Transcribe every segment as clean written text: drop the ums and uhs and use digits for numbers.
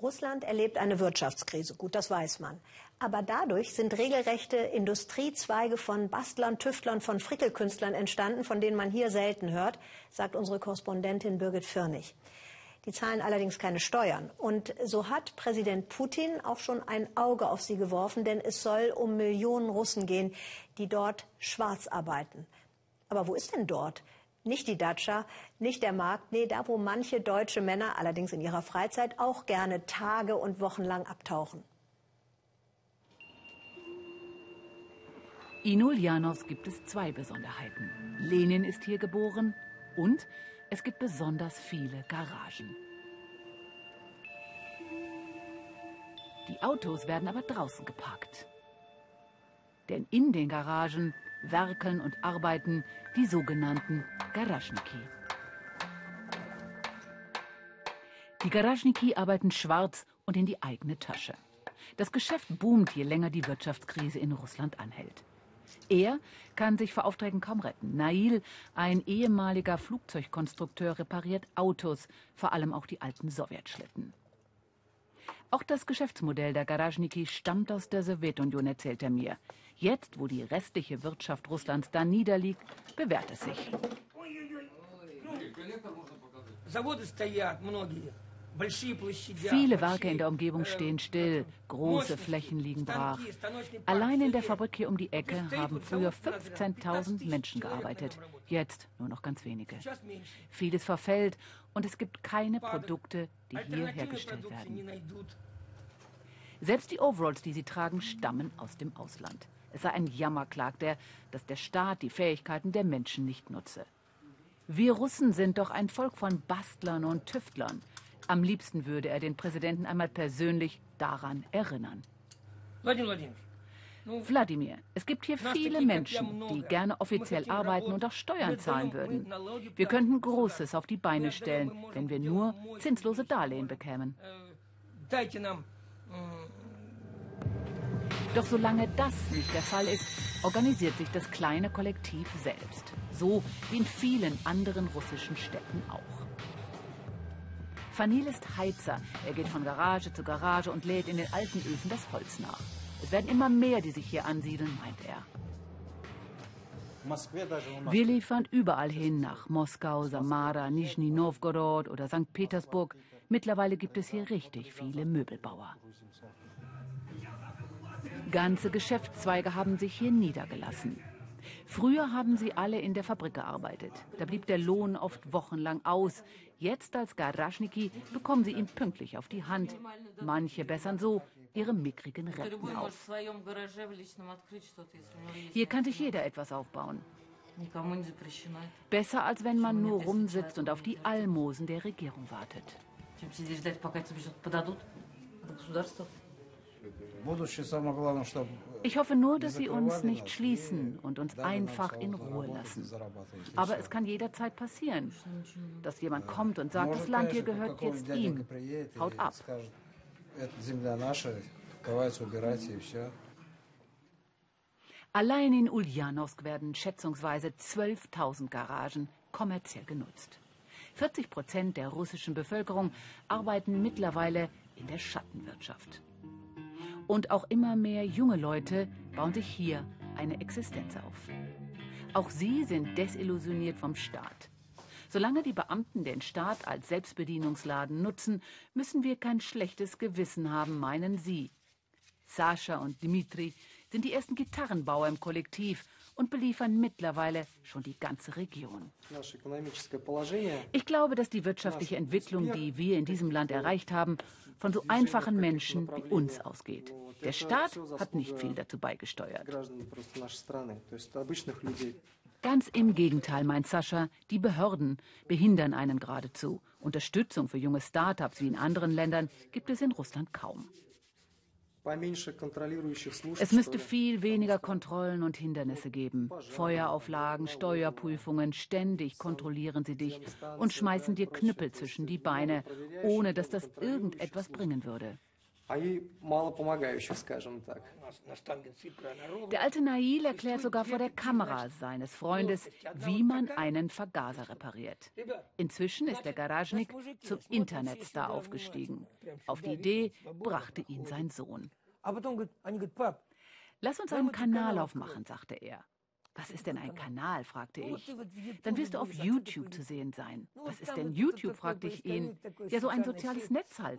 Russland erlebt eine Wirtschaftskrise, gut, das weiß man. Aber dadurch sind regelrechte Industriezweige von Bastlern, Tüftlern, von Frickelkünstlern entstanden, von denen man hier selten hört, sagt unsere Korrespondentin Birgit Firnig. Die zahlen allerdings keine Steuern. Und so hat Präsident Putin auch schon ein Auge auf sie geworfen, denn es soll um Millionen Russen gehen, die dort schwarz arbeiten. Aber wo ist denn dort? Nicht die Datscha, nicht der Markt, nee, da wo manche deutsche Männer, allerdings in ihrer Freizeit, auch gerne Tage und Wochen lang abtauchen. In Uljanovsk gibt es zwei Besonderheiten. Lenin ist hier geboren und es gibt besonders viele Garagen. Die Autos werden aber draußen geparkt. Denn in den Garagen werkeln und arbeiten die sogenannten Garaschniki. Die Garaschniki arbeiten schwarz und in die eigene Tasche. Das Geschäft boomt, je länger die Wirtschaftskrise in Russland anhält. Er kann sich vor Aufträgen kaum retten. Nail, ein ehemaliger Flugzeugkonstrukteur, repariert Autos, vor allem auch die alten Sowjetschlitten. Auch das Geschäftsmodell der Garaschniki stammt aus der Sowjetunion, erzählt er mir. Jetzt, wo die restliche Wirtschaft Russlands da niederliegt, bewährt es sich. Viele Werke in der Umgebung stehen still, große Flächen liegen brach. Allein in der Fabrik hier um die Ecke haben früher 15.000 Menschen gearbeitet, jetzt nur noch ganz wenige. Vieles verfällt und es gibt keine Produkte, die hier hergestellt werden. Selbst die Overalls, die sie tragen, stammen aus dem Ausland. Es sei ein Jammer, klagt er, dass der Staat die Fähigkeiten der Menschen nicht nutze. Wir Russen sind doch ein Volk von Bastlern und Tüftlern. Am liebsten würde er den Präsidenten einmal persönlich daran erinnern. Wladimir, es gibt hier viele Menschen, die gerne offiziell arbeiten und auch Steuern zahlen würden. Wir könnten Großes auf die Beine stellen, wenn wir nur zinslose Darlehen bekämen. Doch solange das nicht der Fall ist, organisiert sich das kleine Kollektiv selbst. So wie in vielen anderen russischen Städten auch. Fanil ist Heizer. Er geht von Garage zu Garage und lädt in den alten Öfen das Holz nach. Es werden immer mehr, die sich hier ansiedeln, meint er. Wir liefern überall hin, nach Moskau, Samara, Nischni Nowgorod oder St. Petersburg. Mittlerweile gibt es hier richtig viele Möbelbauer. Ganze Geschäftszweige haben sich hier niedergelassen. Früher haben sie alle in der Fabrik gearbeitet. Da blieb der Lohn oft wochenlang aus. Jetzt als Garaschniki bekommen sie ihn pünktlich auf die Hand. Manche bessern so ihre mickrigen Renten auf. Hier kann sich jeder etwas aufbauen. Besser, als wenn man nur rumsitzt und auf die Almosen der Regierung wartet. Ich hoffe nur, dass sie uns nicht schließen und uns einfach in Ruhe lassen. Aber es kann jederzeit passieren, dass jemand kommt und sagt, das Land hier gehört jetzt ihm. Haut ab. Allein in Uljanovsk werden schätzungsweise 12.000 Garagen kommerziell genutzt. 40% der russischen Bevölkerung arbeiten mittlerweile in der Schattenwirtschaft. Und auch immer mehr junge Leute bauen sich hier eine Existenz auf. Auch sie sind desillusioniert vom Staat. Solange die Beamten den Staat als Selbstbedienungsladen nutzen, müssen wir kein schlechtes Gewissen haben, meinen sie. Sascha und Dmitri sind die ersten Gitarrenbauer im Kollektiv und beliefern mittlerweile schon die ganze Region. Ich glaube, dass die wirtschaftliche Entwicklung, die wir in diesem Land erreicht haben, von so einfachen Menschen wie uns ausgeht. Der Staat hat nicht viel dazu beigesteuert. Ganz im Gegenteil, meint Sascha, die Behörden behindern einen geradezu. Unterstützung für junge Start-ups wie in anderen Ländern gibt es in Russland kaum. Es müsste viel weniger Kontrollen und Hindernisse geben. Feuerauflagen, Steuerprüfungen, ständig kontrollieren sie dich und schmeißen dir Knüppel zwischen die Beine, ohne dass das irgendetwas bringen würde. Der alte Nail erklärt sogar vor der Kamera seines Freundes, wie man einen Vergaser repariert. Inzwischen ist der Garaschnik zum Internetstar aufgestiegen. Auf die Idee brachte ihn sein Sohn. Lass uns einen Kanal aufmachen, sagte er. Was ist denn ein Kanal, fragte ich. Dann wirst du auf YouTube zu sehen sein. Was ist denn YouTube, fragte ich ihn. Ja, so ein soziales Netz halt.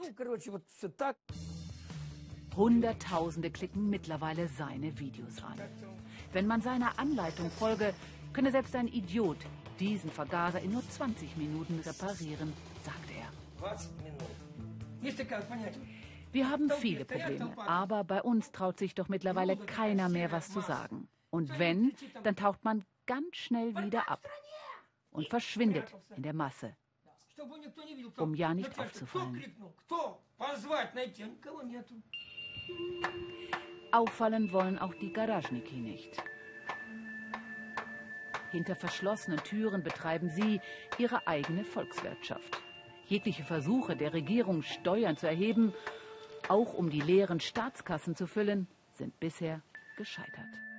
Hunderttausende klicken mittlerweile seine Videos an. Wenn man seiner Anleitung folge, könne selbst ein Idiot diesen Vergaser in nur 20 Minuten reparieren, sagte er. Wir haben viele Probleme, aber bei uns traut sich doch mittlerweile keiner mehr, was zu sagen. Und wenn, dann taucht man ganz schnell wieder ab und verschwindet in der Masse, um ja nicht aufzufallen. Auffallen wollen auch die Garaschniki nicht. Hinter verschlossenen Türen betreiben sie ihre eigene Volkswirtschaft. Jegliche Versuche der Regierung, Steuern zu erheben, auch um die leeren Staatskassen zu füllen, sind bisher gescheitert.